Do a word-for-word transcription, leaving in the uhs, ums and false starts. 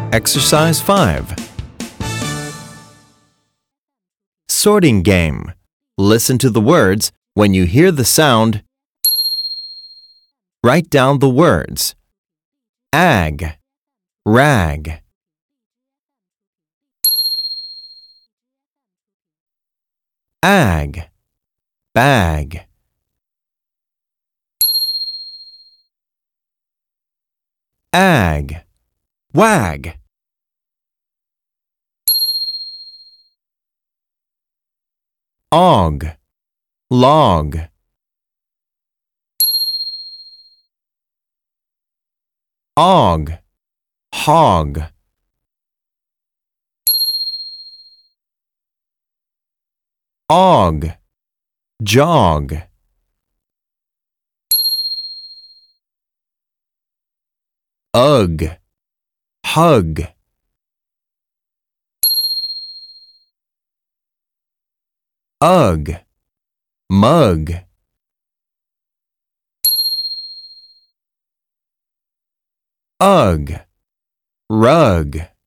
Exercise five. Sorting game. Listen to the words. When you hear the sound, write down the words. Ag, rag. Ag, bag. Ag, wag. Og, log. Og, hog. Og, jog. Ugh, hug. Ugh, mug. Ugh, rug.